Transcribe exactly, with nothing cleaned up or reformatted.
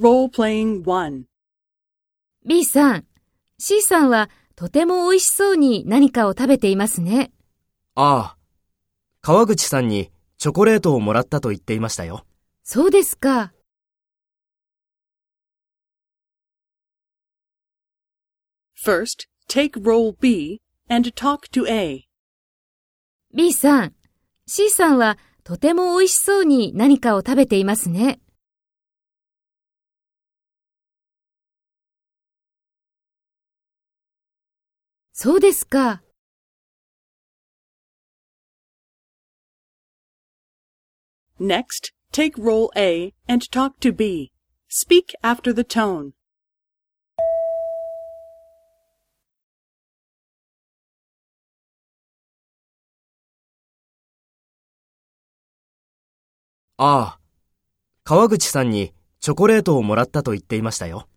Role-playing one. B さん、C さんはとても美味しそうに何かを食べていますね。 ああ、川口さんにチョコレートをもらったと言っていましたよ。 そうですか。 First, take role B and talk to A. B さん、C さんはとても美味しそうに何かを食べていますね。そうですか。 Next, take role A and talk to B. Speak after the tone. ああ、川口さんにチョコレートをもらったと言っていましたよ。